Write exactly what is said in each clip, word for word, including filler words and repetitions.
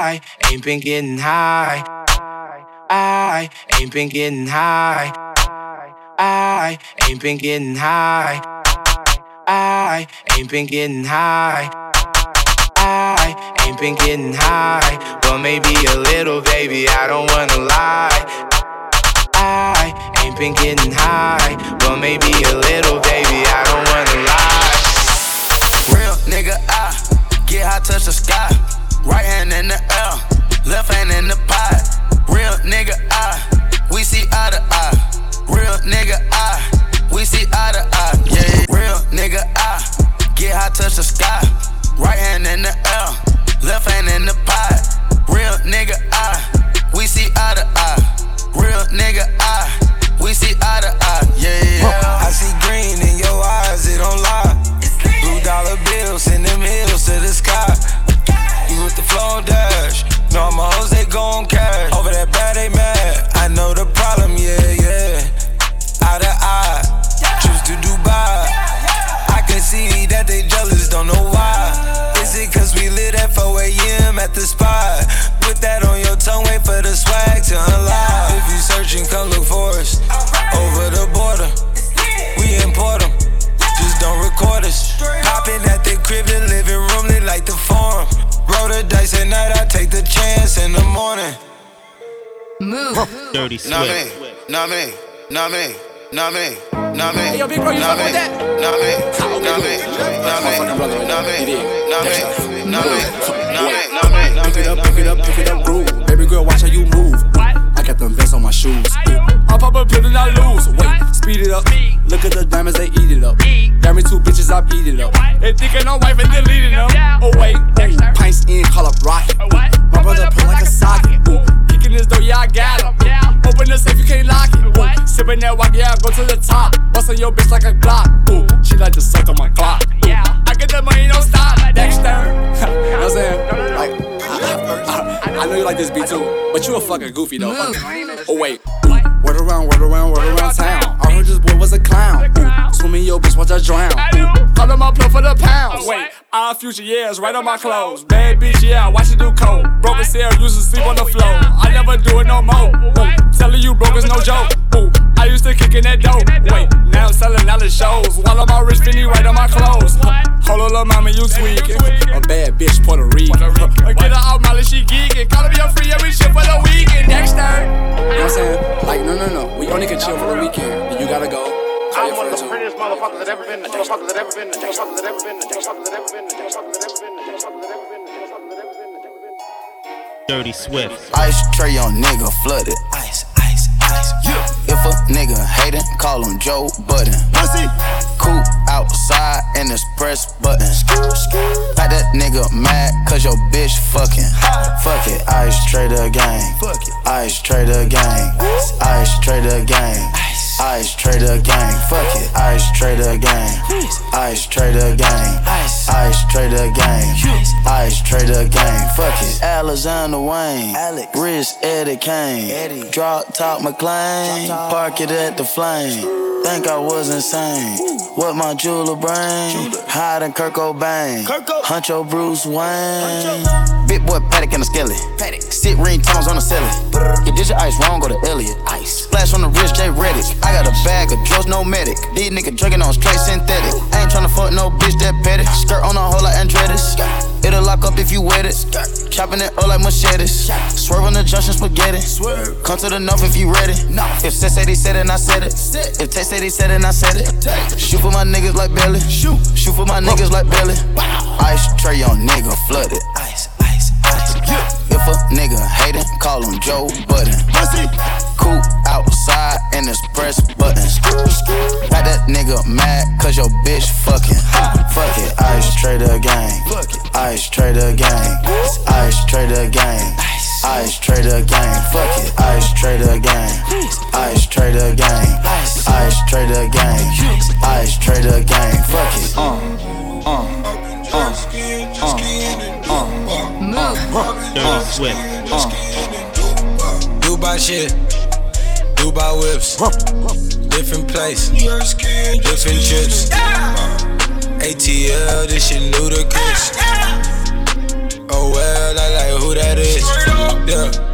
I ain't been getting high. I ain't been getting high. I ain't been getting high. I ain't been getting high. I ain't been getting high. Well, maybe a little, baby, I don't wanna lie. I ain't been getting high. Well, maybe a little, baby, I don't wanna lie. Real nigga, I get high, touch the sky. Right hand in the air, left hand in the pot. Real nigga, I, we see eye to eye. Real nigga, I, we see eye to eye. Yeah, real nigga, I get high, touch the sky. Right hand in the air, left hand in the pot. Real nigga, I, we see eye to eye. Real nigga, I, we see eye to eye. Yeah, yeah. I see green in your eyes, it don't lie. Blue dollar bills, send them hills to the sky. You with the flow dash. No, all my hoes, they gon' cash. Over that bad, they mad. I know the problem, yeah, yeah. Eye to eye, trips to Dubai. I can see that they jealous, don't know why. Is it cause we lit at four a.m. at the spot? Put that on your tongue, wait for the swag to unlock. If you searching, come look for us. Over the border, we import them. Just don't record us. Popping at the crib, the living room, they like the farm. Roll the dice at night, I take the chance in the morning. Move. Dirty Swift. Not me, not me, not me, not me, not me. Hey, yo, big bro, you fuck with that? Not me, not me, not me, not me, not me, not me, not me, not me, not me. Pick it up, pick it up, pick it up, groove. Baby girl, watch how you move. I got them vests on my shoes. I pop a pill and I lose. Wait, speed it up. Look at the diamonds, they eat it up. Got me two bitches, I beat it up. They thinking I'm wife and deleting them. Oh wait, ooh, pints in, call up rocket. Ooh, my brother pull like a socket. Ooh, kicking this door, yeah I got him. Open the safe, you can't lock it. Ooh, sipping that walk, yeah I go to the top. Bustin' your bitch like a Glock. Ooh, she like to suck on my clock. Ooh, I get the money, don't stop. Dexter. You know what I'm saying? Like, I, I, I know you like this beat too, but you a fucking goofy though. Oh wait, word around, word around, word around town. I heard this boy was a clown. Ooh, swimming your bitch, watch her drown. Ooh, call him up, plug for the pounds. Wait, our future years, right on my clothes. Bad bitch, yeah, watch it do coke. Broke sale, used to sleep on the floor. I never do it no more. Ooh, telling you broke is no joke. Ooh, I used to kick in that dope. Wait, now I'm selling out the shows. While I'm all rich, Finny right on my clothes. Hold on, little mama, you tweaking. A bad bitch, Puerto Rican. Get her out, Molly, she geeking. Call me a free every shit for the weekend. Dexter. You know what I'm saying? Like, no, no, no. We only can chill for the weekend. And you gotta go. I'm one of the prettiest motherfuckers that ever been. Motherfuckers that ever been. Motherfuckers that ever been. Motherfuckers that ever been. Motherfuckers that ever been. Motherfuckers that ever been. Motherfuckers that ever been. Dirty Swift. Ice tray on nigga flooded. Ice, ice, ice. Yeah. If a nigga hatin', call him Joe Budden. Pussy. Cool outside and it's press button. Like that nigga mad cause your bitch fucking. Fuck it, ice trader gang. Fuck it, ice trader gang. Ice trader gang. Ice trader gang. Fuck it, ice trader gang. Ice trader gang. Ice trader gang. Ice trader gang. Fuck it, Alexander Wayne. Rich Eddie Kane. Drop top McLean. Park it at the flame. Think I was insane. What my jeweler brain? Hiding Kurt Cobain. Huncho Bruce Wayne. Big boy Paddock and a skelly. Sit ring tones on the celly. You did your ice wrong, go to Elliot. Ice. Splash on the wrist, J Reddick. I got a bag of drugs, no medic. These niggas drinking on straight synthetic. I ain't tryna fuck no bitch that petty. Skirt on a hole like Andretti's. It'll lock up if you wet it. Chopping it up like machetes. Swerve on the junction spaghetti. Come to the north if you ready. If Seth said he said it, and I said it. If Tay said he said it, and I said it. Shoot for my niggas like Belly. Shoot. Shoot for my niggas like Belly. Ice tray on nigga flooded. Ice, ice, ice. If a nigga hatin', call him Joe Budden. Cool outside and it's press button. Got that nigga mad cause your bitch fucking. Fuck it, ice trader gang. Ice trader gang. Ice trader gang. Ice trader gang. Fuck it, ice trader gang. Ice trader gang. Ice trader gang. Ice trader gang. Fuck it. Uh, uh, uh, uh, uh, uh, Dirty Swift. uh. Dubai shit. Dubai whips. Different place. Different trips. A T L, this shit ludicrous. Oh well, I like who that is.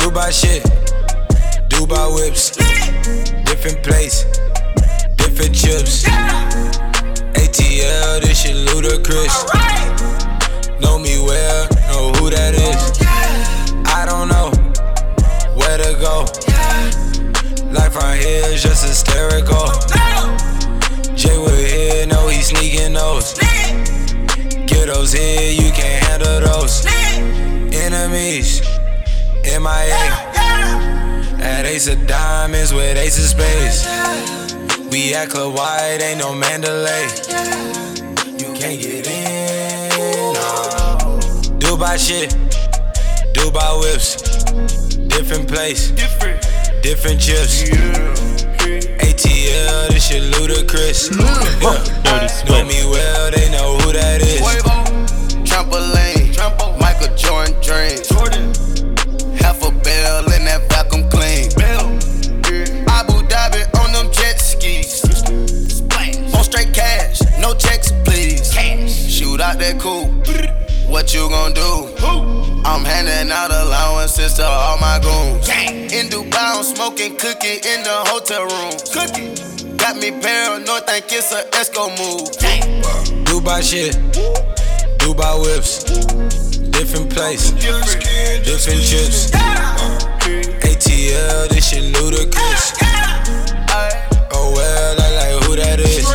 Dubai shit, Dubai whips, different place, different chips. A T L, this shit ludicrous. Know me well, know who that is. I don't know where to go. Life right here is just hysterical. Jay Wood here, know he sneaking those. Get those here, you can't handle those. Enemies, M I A. At Ace of Diamonds with Ace of Spades. We at Club White, ain't no Mandalay. You can't get in, no. Dubai shit, Dubai whips, different place, different chips. A T L, this shit ludicrous. Yeah. Dirty Swift. Know me well, they know who that is. Trampoline, Michael Jordan dreams. Half a bell in that vacuum clean. Abu Dhabi on them jet skis. On straight cash, no checks please. Shoot out that coupe, what you gon' do? I'm handing out allowances to all my goons. In Dubai, I'm smoking cookie in the hotel room. Got me paranoid, think it's a Esco move. Dubai shit, Dubai whips, different place, different chips. A T L, this shit ludicrous. Oh well, I like who that is.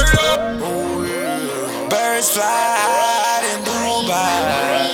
Birds fly in Dubai.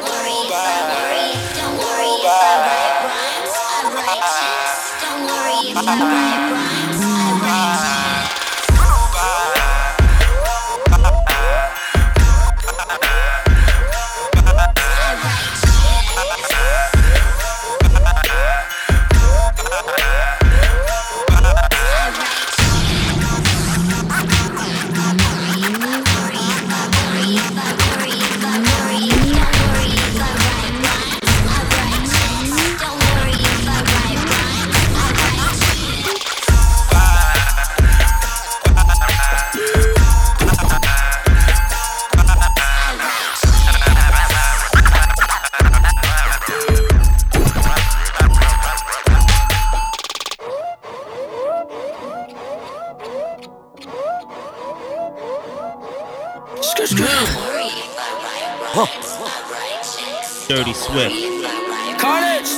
Dirty Swift. Carnage.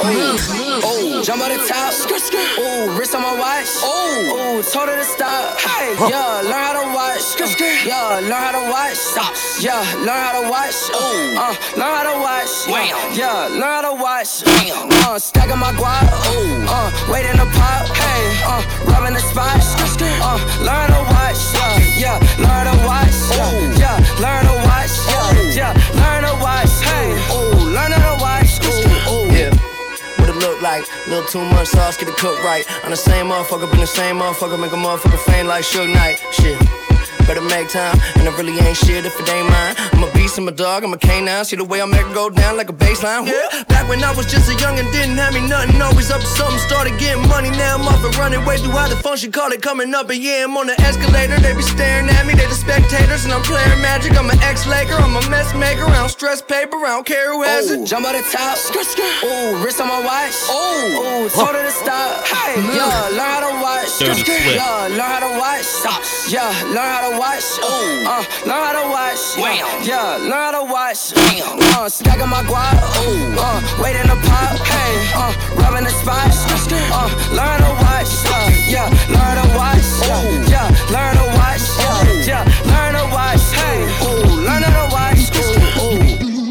Oh, oh, jump on the top. Oh, wrist on my watch. Oh, oh, told her to stop. Hey, yeah, learn how to watch. Yeah, learn how to watch. Yeah, learn how to watch. Oh, uh, learn how to watch. Yeah, learn how to watch. Uh, stacking my guap. Oh, uh, wait in the pot. Hey, uh, rubbing the spot. Uh, learn how to watch. Yeah, yeah, learn how to watch. Oh, yeah, learn how to watch. Yeah, yeah, learn how to watch. Hey, oh, learn how to watch. Oh, oh, yeah. What it look like? Little too much sauce, get it cooked right. I'm the same motherfucker, been the same motherfucker, make a motherfucker faint like Suge Knight. Shit. Better make time, and I really ain't shit if it ain't mine. I'm a beast, I'm a dog, I'm a canine. See the way I make it go down like a baseline. Yeah. Back when I was just a young and didn't have me nothing, always up to something, started getting money. Now I'm off and running way through how the function, call it coming up. And yeah, I'm on the escalator, they be staring at me, they the spectators, and I'm playing magic. I'm an ex-Laker, I'm a mess maker, I don't stress paper, I don't care who has Ooh. It. Jump on the top, ooh, wrist on my watch, ooh, ooh, told her to stop. Hey, yeah, learn how to watch, yeah, learn how to watch, yeah, learn how to watch, ooh, uh, learn how to watch, yeah, yeah, learn how to watch, uh, stacking my guap, ooh, uh, wait in the pot, hey, uh, rubbing the spot, uh, learn how to watch, uh, yeah, learn how to watch, ooh, yeah, learn how to watch, yeah, yeah, learn how to watch, hey, ooh, learn how to watch, ooh, ooh.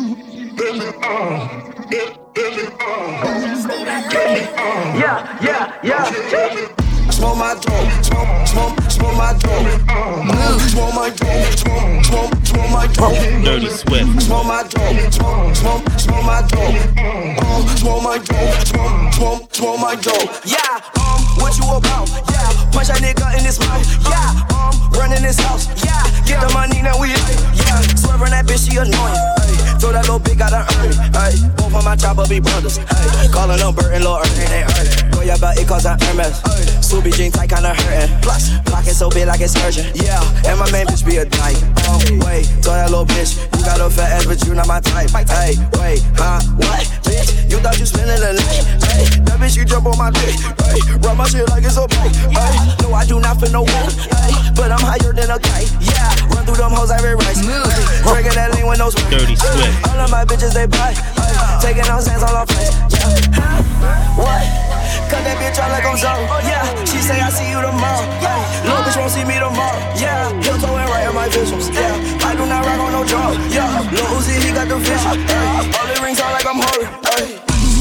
Yeah, yeah, yeah. Smoke my dope, smoke, smoke, smoke my dope. Smoke my dope, smoke, smoke, smoke my dope. Dirty Swift. Smoke my dope, smoke, smoke, smoke my dope. Smoke my dope, smoke, smoke, smoke my dope. Yeah, um, what you about? Yeah, punch that nigga in his mouth. Yeah, um, running this house. Yeah, get the money now we. Yeah, swerving that bitch, she annoying. Ay, throw that little bitch, gotta earn it. Ay, both of my chopper be brothers. Ay, calling them Bert and Lil Ernie, they earn it. Go yeah, but it cause I'm Hermes. Subi jeans tight, kinda hurting. Plus, pocket so big like it's urgent. Yeah, and my main bitch be a dyke. Oh, wait, throw that little bitch. You got a fat ass, but you not my type. Hey, wait, huh? What? Bitch, you thought you spending the night? Hey, bitch, you jump on my dick. Ay, run my shit like it's a bike. Ay, no, I do not feel no one. Ay, but I'm higher than a kite. Yeah, run through them hoes every race. Drinking that lean with no sweat. Dirty Swift. All of my bitches, they buy. Ay, taking on sands all off face. Yeah. What? Cut that bitch out like I'm Zoe. Yeah, she say I see you tomorrow. Yeah, little bitch won't see me tomorrow. Yeah, heel toe and right in my visuals. Yeah, I do not rock on no draw. Yeah, Lil Uzi, he got the vision. Ay, all the rings on like I'm holy. Ay.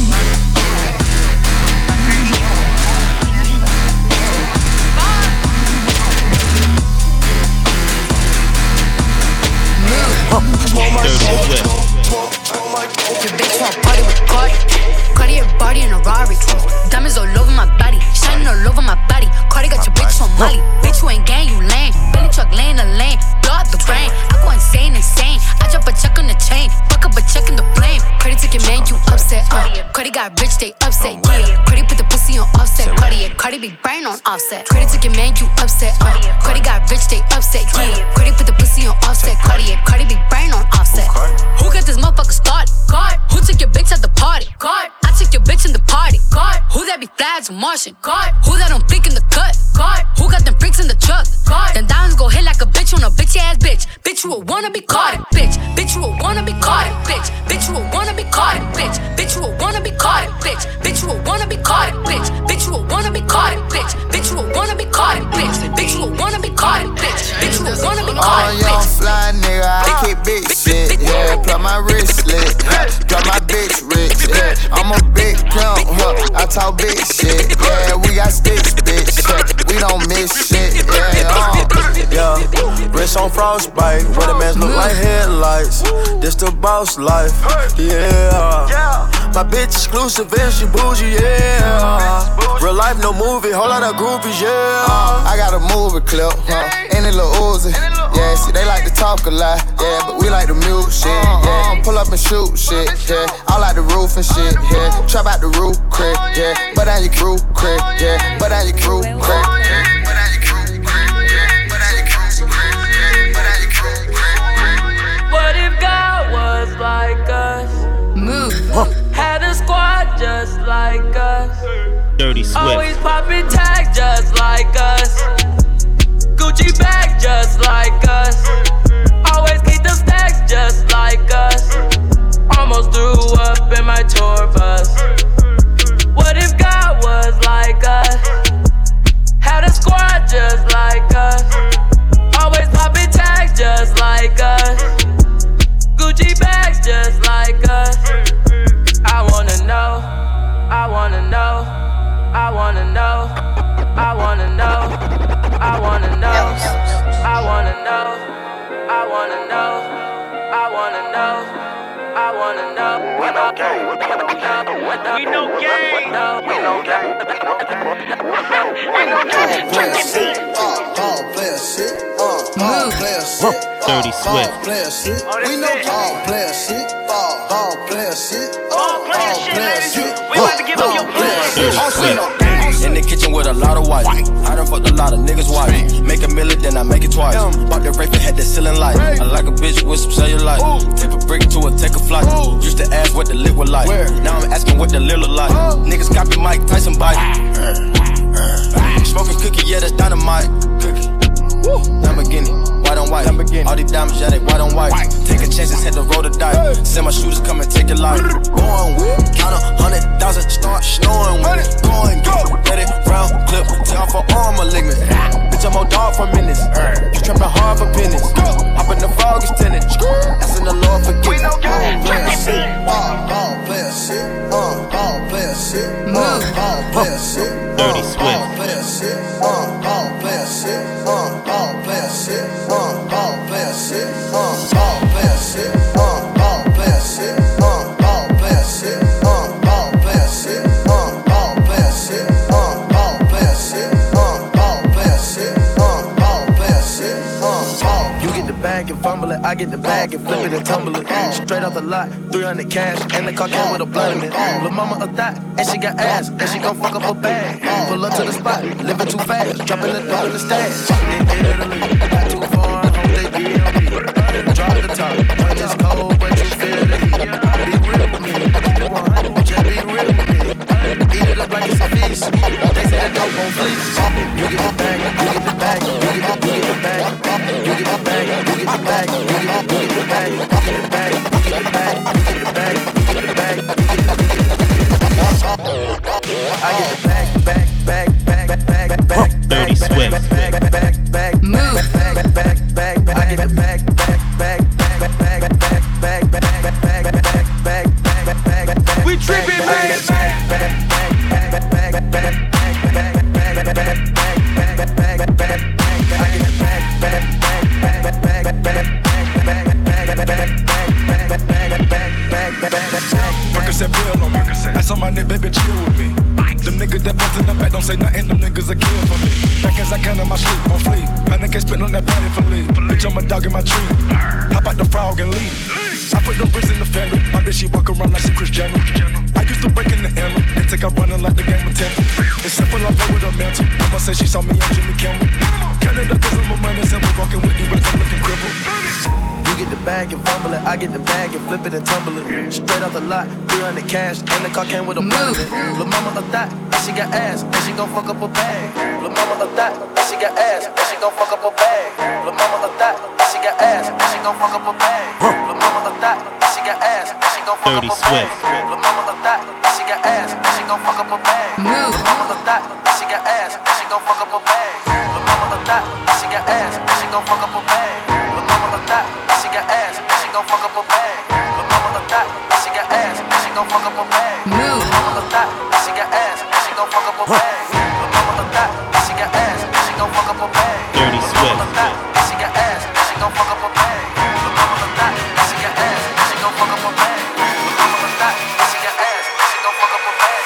Your bitch want party with Cardi. Cardi a body in a Rari. Diamonds all over my body, shining all over my body. Cardi got your bitch on Molly. Bitch, you ain't gang, you lame. Billy truck laying the lane, blow up the brain. I go insane, insane. I drop a check on the chain, fuck up a check in the flame. Cardi took your man, you upset. Uh. Cardi got rich, they upset. Yeah, Cardi put the pussy on offset. Cardi, Cardi be brain on offset. Cardi took your man, you upset. Uh. Cardi got rich, they upset. Yeah, Cardi put the pussy on offset. Cardi, Cardi be brain on offset. Who got this motherfucker started? God. Who took your bitch at the party? God. I took your bitch in the party. God. Who that be flags and Martian? God. Who that don't flick in the cut? God. Who got them freaks in the truck? God. Then diamonds go hit like a bitch on a bitch ass bitch. Bitch, you a wanna be caught it, bitch. Bitch, you a wanna be caught it, bitch. Bitch, you a wanna be caught it, bitch. Bitch, you a wanna be caught it, bitch. Bitch, you a wanna be caught it, bitch. Bitch, you a wanna be caught it, bitch. Bitch, you a wanna be caught it, bitch. Bitch, you a wanna be caught it, bitch. Bitch, you a wanna be caught it, bitch. Young fly nigga, I kick big shit. Yeah, plug my wristlet. Got my bitch rich. Yeah, I'm a big pimp. Huh? I talk big shit. Yeah, we got sticks, bitch. Yeah, we don't miss shit. Yeah, uh. Yeah, wrist on frostbite. Where the mans look like headlights. This the boss life. Yeah, my bitch exclusive and she bougie. Yeah, real life no movie. Whole lot of groupies. Yeah, I got a movie clip. Huh? And it Lil Uzi. Yeah, see they like to talk a lot. Yeah, but we like to mute shit. Yeah, pull up and shoot shit. Yeah, I like the roof and shit. Yeah, trap out the roof crib. Yeah, but I your crew crib. Yeah, but I your crew crib. Yeah, but I your crew crib. Yeah, but I your crew crib. Yeah, but I your crew crib. What if God was like us? Move. Had a squad just like us. Dirty Swift. Always popping tags just like us. Gucci bag just like us. Always keep them stacks just like us. Almost threw up in my tour bus. What if God was like us? Had a squad just like us. Always popping tags just like us. Gucci bags just like us. I wanna know, I wanna know, I wanna know, I wanna know, I wanna know, I wanna know, I wanna know, I wanna know, I wanna know. We know gang. We know gang. We know gang. We know gang. Check the beat. All player shit. All player shit. Dirty Swift. All player shit. We know all player shit. All player shit. All player shit, ladies. We about to give up your blood. Dirty Swift. In the kitchen with a lot of white. I done fucked a lot of niggas' wife. Make a million, then I make it twice. Bought the rape and had the ceiling light. I like a bitch with some cellulite. Tip a brick to a take a flight. Used to ask what the lit was like. Now I'm asking what the lil look like. Niggas copy Mike Tyson bite. Smoking cookie, yeah, that's dynamite. Cookie. Lamborghini, white on white. Lamborghini. All these diamonds, yeah, they white on white. Taking chances, had to roll the dice. Send my shooters come and take your life. Going with, count a hundred thousand, start snowing with it. Going, go, let it round, clip, take off her arm, malignant. Bitch, I'm on dog for minutes. You trapping hard for pennies. Hop in the fog is tenant. Asking the Lord forgive me. All player shit, all player shit, all player shit, all player shit. Dirty Swift. All player shit, all player shit, all player shit, all player shit, all player shit, all player shit, all player shit, all player shit, all player shit, all player shit, all player shit, all player shit. You get the bag and fumble it, I get the bag and flip it and tumble it. Straight off the lot, three hundred cash, and the car came with a blood in it. Lil' mama a thot, and she got ass, and she gon' fuck up her bag. Pull up to the spot, living too fast, dropping the dough in the stash. In Italy, not too far, hope they be on me. Drop the top, when it's cold, but you feel the heat. Be real with me, just be real with me. Eat it up like tripping, man. Percocet pill on me. That's on my neck, baby, chill with me. Them niggas that bust in the back don't say nothing, them niggas are kill for me. Back as I can in my sleep, on fleek. Panic can't spit on that body for leave. Bitch, I'm a dog in my tree. Hop out the frog and leave. I put the wrist in the fender. My bitch, she walk around like she Kris Jenner. I used to break in the hammer. They take out running like the game of tennis. It's simple, I play with a mantle. Mama said she saw me on Jimmy Kimmel. Counted up cause I'm a money simple. Walking with you as I'm looking crippled. You get the bag and fumble it, I get the bag and flip it and tumble it. Straight off the lot, three hundred cash, and the car came with a blunt. Lil' mama a thot, and she got ass, and she gon' fuck up a bag. Lil' mama a thot, and she got ass, and she gon' fuck up a bag. Lil' mama a thot, and she got ass, and she gon' fuck up a bag. Lil' mama a thot, and she got ass, and she gon' fuck up a bag. Lil' mama a thot, and she got ass, and she gon' fuck up a bag. Lil' mama a thot, and she got ass, and she gon' fuck up a bag. Lil' mama a thot, and she got ass, and she gon' fuck up a bag. Lil' mama a thot, and she got ass, and she gon' fuck up a bag. Lil' mama a thot, and she got ass, and she gon' fuck up a bag. Lil' mama a thot, and she got ass, and she gon' fuck up a bag. Lil' mama a thot, and she got ass, and she gon' fuck up a bag. Dirty Swift. Lil' mama a thot, and she got ass, and she gon' fuck up a bag. Lil' mama a thot, and she got ass, and she gon' fuck up a bag. Lil' mama a thot, and she got ass, and she gon' fuck up a bag.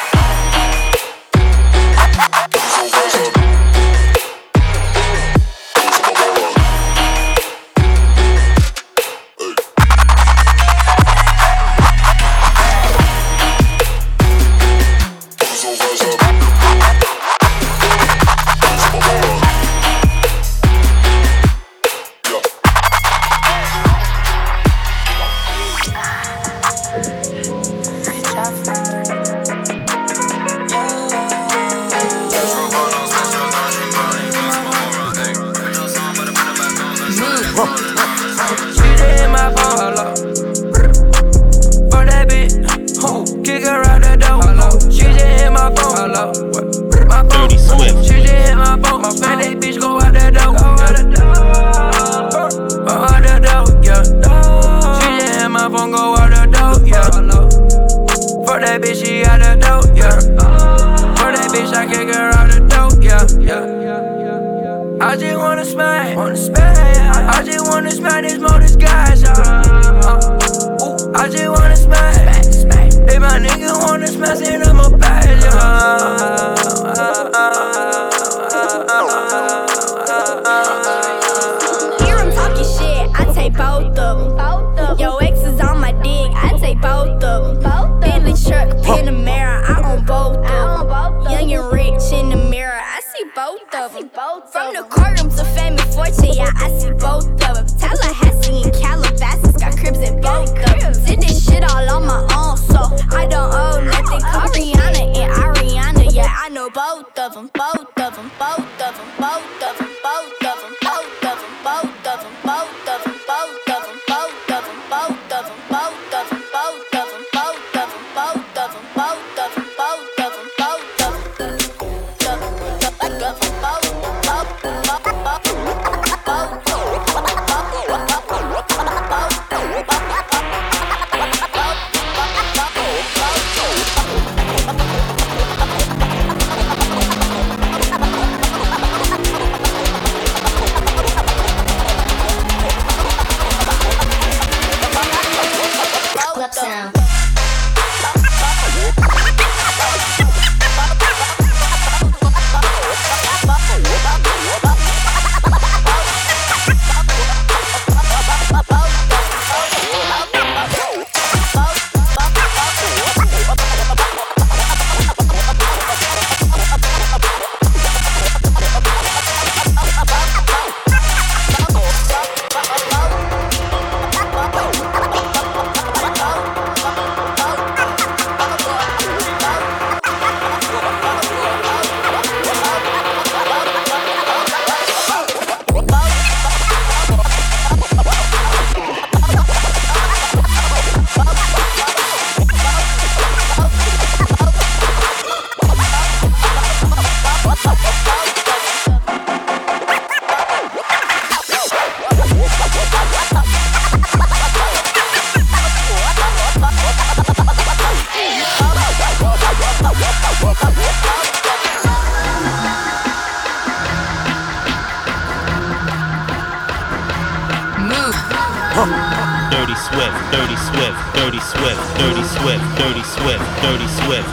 Swift, Dirty Swift, Dirty Swift, Dirty Swift, Dirty Swift, Dirty Swift.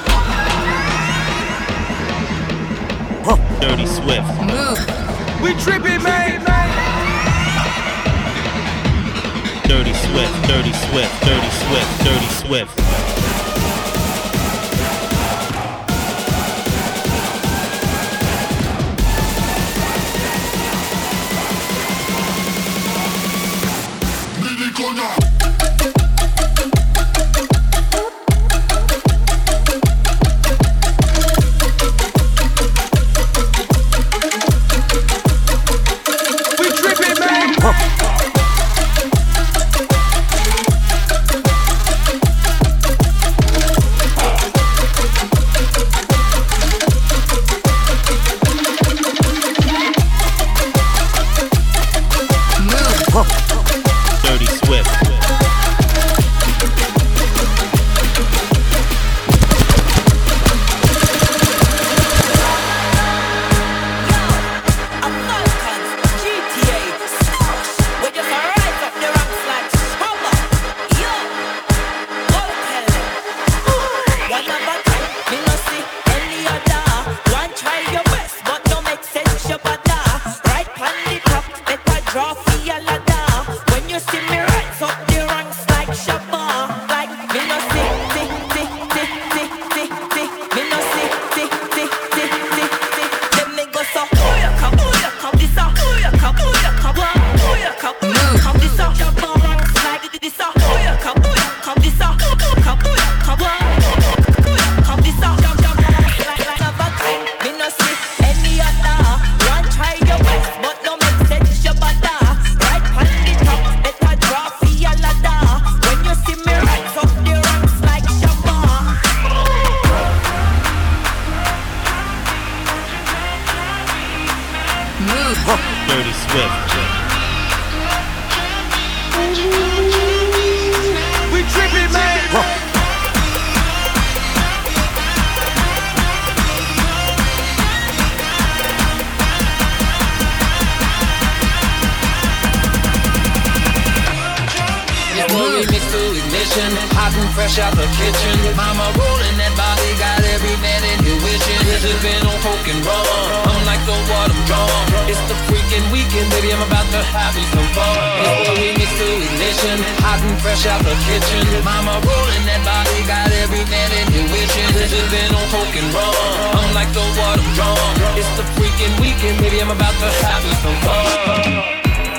Dirty Swift. We trippin', man. Dirty Swift, Dirty Swift, Dirty Swift, Dirty Swift. Dirty Swift. We trippin', man. Remix to ignition, hot and fresh out the kitchen. Mama rolling that body, got every man in your wishing. Sipping on coke and rum, I'm like the water drum. It's the freaking weekend, baby, I'm about to have me some fun. It's the remix to ignition, hot and fresh out the kitchen. Mama rolling that body, got every man in your wishing. Sipping on coke and rum, I'm like the water drum. It's the freaking weekend, baby, I'm about to have me some fun.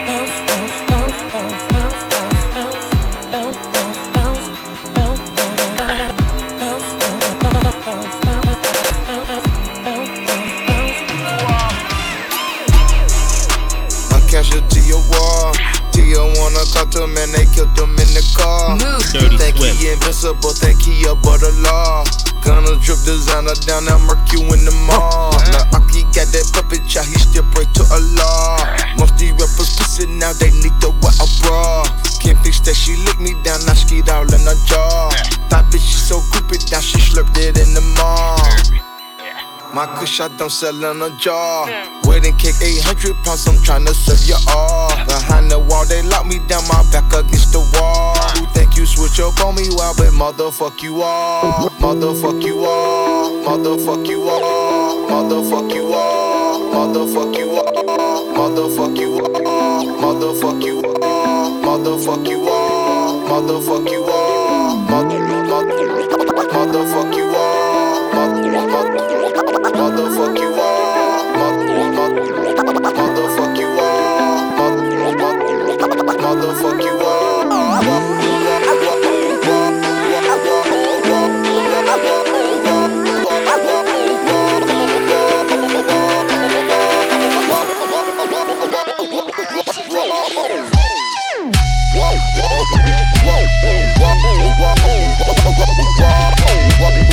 To your wall, Tia wanna talk to him and they killed him in the car. Dirty think Swift. he invincible, think he above the law. Gonna drip designer down that Merc you in the mall. Now Aki got that puppet child, he still pray to Allah. Most these rappers pussy now, they need to wear a bra. Can't fix that, she licked me down, now skied all in her jaw. That bitch she so groupie down, she slurped it in the mall. My kush I don't sell in a jar. Wedding cake eight hundred pounds, I'm tryna serve you all. Behind the wall, they lock me down, my back against the wall. Who think you switch up on me, well, but motherfuck you all. Motherfuck you all. Motherfuck you all. Motherfuck you all. Motherfuck you all. Motherfuck you all. Motherfuck you all. Motherfuck you all. Motherfuck you all. Motherfuck you all. Motherfuck you all, motherfuck you all, motherfuck you all. Whoa, whoa, whoa, whoa, whoa, whoa, whoa, whoa, whoa, whoa, whoa.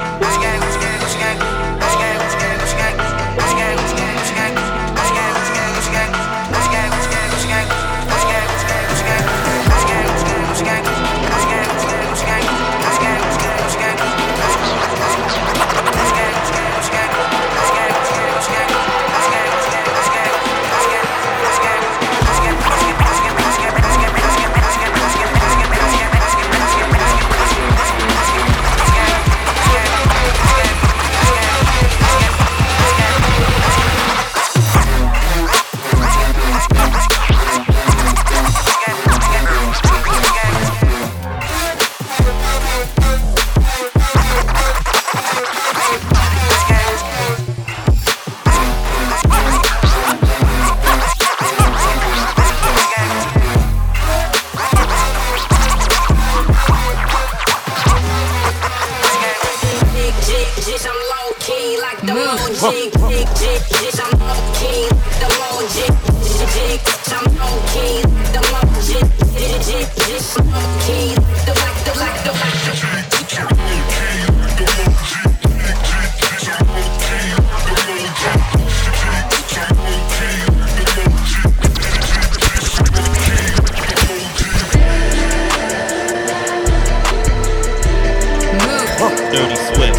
Dirty Swift.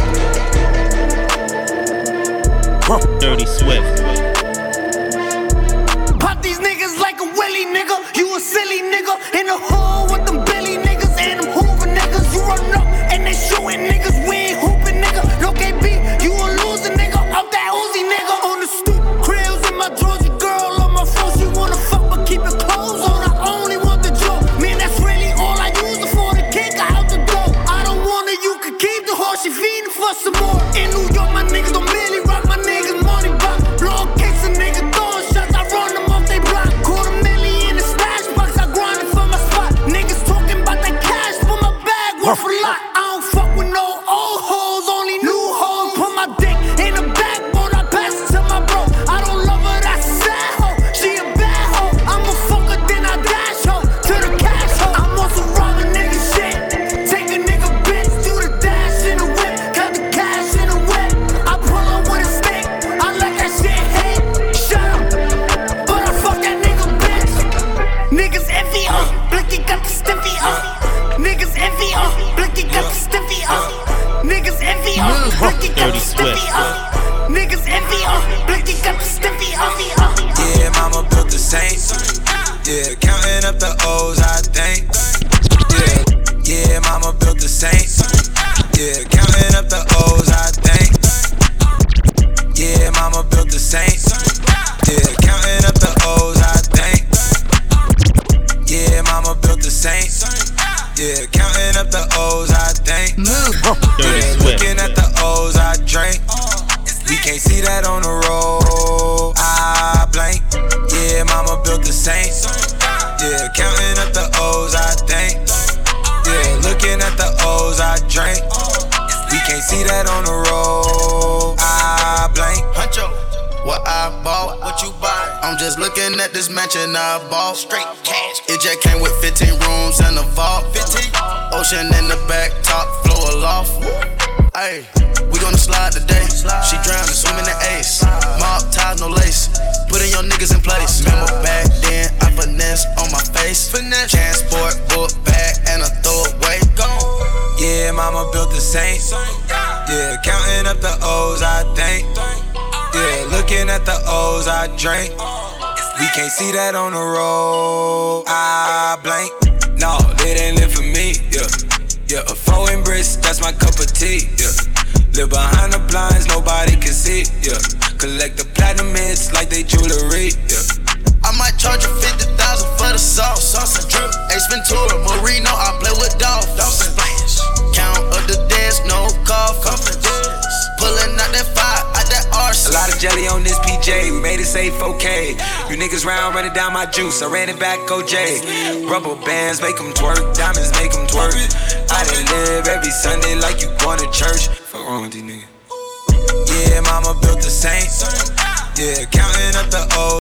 Dirty Swift. Pop these niggas like a willy nigga. You a silly nigga in the hood with them Billy niggas and them Hoover niggas. You run up and they shooting niggas. We ain't hooping nigga. No K B, you a loser nigga. Out that Uzi nigga. On the stoop, cribs in my drawers. Your girl on my phone. She wanna fuck but keep it clothes on. I only want the joke. Man, that's really all I use it for. The kick her out the door. I don't want her, you can keep the horse. She feeding for some more. In New York, my niggas don't merely rock. My niggas money box. Blow kicks a nigga throwing shots. I run them off they block. Quarter million in the stash box. I grind it for my spot. Niggas talking about that cash for my bag. Worth a lot. I don't fuck with no old hoes. Only new hoes. Put my dick in the backbone. I pass it to my bro. I don't love her. That's a sad hoe. She a bad hoe. I'm a fucker. Then I dash hoe to the cash hoe. I'm on some robbing nigga shit. Take a nigga bitch. Do the dash in the whip. Cut the cash in the whip. I pull up with a stick. I let that shit hit. Shut up. But I fuck that nigga bitch. Niggas envy us. Blicky got the stiffy up. Niggas envy us. Blicky got the stiffy up. Niggas envy us. Blicky got the stiffy up. Niggas envy us. Blicky got the stiffy up. Yeah, mama built the Saints. Yeah, counting up the O's, I think. Yeah, yeah, mama built the Saints. Yeah, counting up the O's, I think. Yeah, mama built the Saints. Yeah, counting up the O's, I think. Yeah, mama built the Saints. Yeah, counting up the O's, I think. Yeah, looking at the O's, I drink. We can't see that on the road. I blank. Yeah, mama built the Saints. Yeah, counting up the O's, I think. Yeah, looking at the O's, I drink. We can't see that on the road. I blank. Huncho, what I bought, what you buy? I'm just looking at this mansion I bought. Straight cash, It just came with fifteen rooms and a vault. Ocean in the back, top floor aloft. Ayy, we gonna slide today. She drowning, swimming in ace. Mob ties, no lace. Putting your niggas in place. Remember back then, I finesse on my face. Transport, book bag, and a throwaway. Yeah, mama built the Saint. Yeah, counting up the O's, I think. Yeah, looking at the O's, I drink. We can't see that on the road. I blank. No, they didn't live for me. Yeah, yeah. A foreign brisk, that's my cup of tea. Yeah, live behind the blinds, nobody can see. Yeah, collect the platinum hits like they jewelry. Yeah. I might charge you fifty thousand for the sauce, sauce and drip. Ace Ventura, Marino, I play with Dolph. Dolphin splash. Count of the dance, no coffin. Pulling out that fire, out that arse. A lot of jelly on this P J, we made it safe, okay. You niggas round running down my juice, I ran it back, O J. Rubber bands make them twerk, diamonds make them twerk. I done live every Sunday like you going to church. Fuck wrong with these niggas. Yeah, mama built the Saint. Yeah, counting up the O's.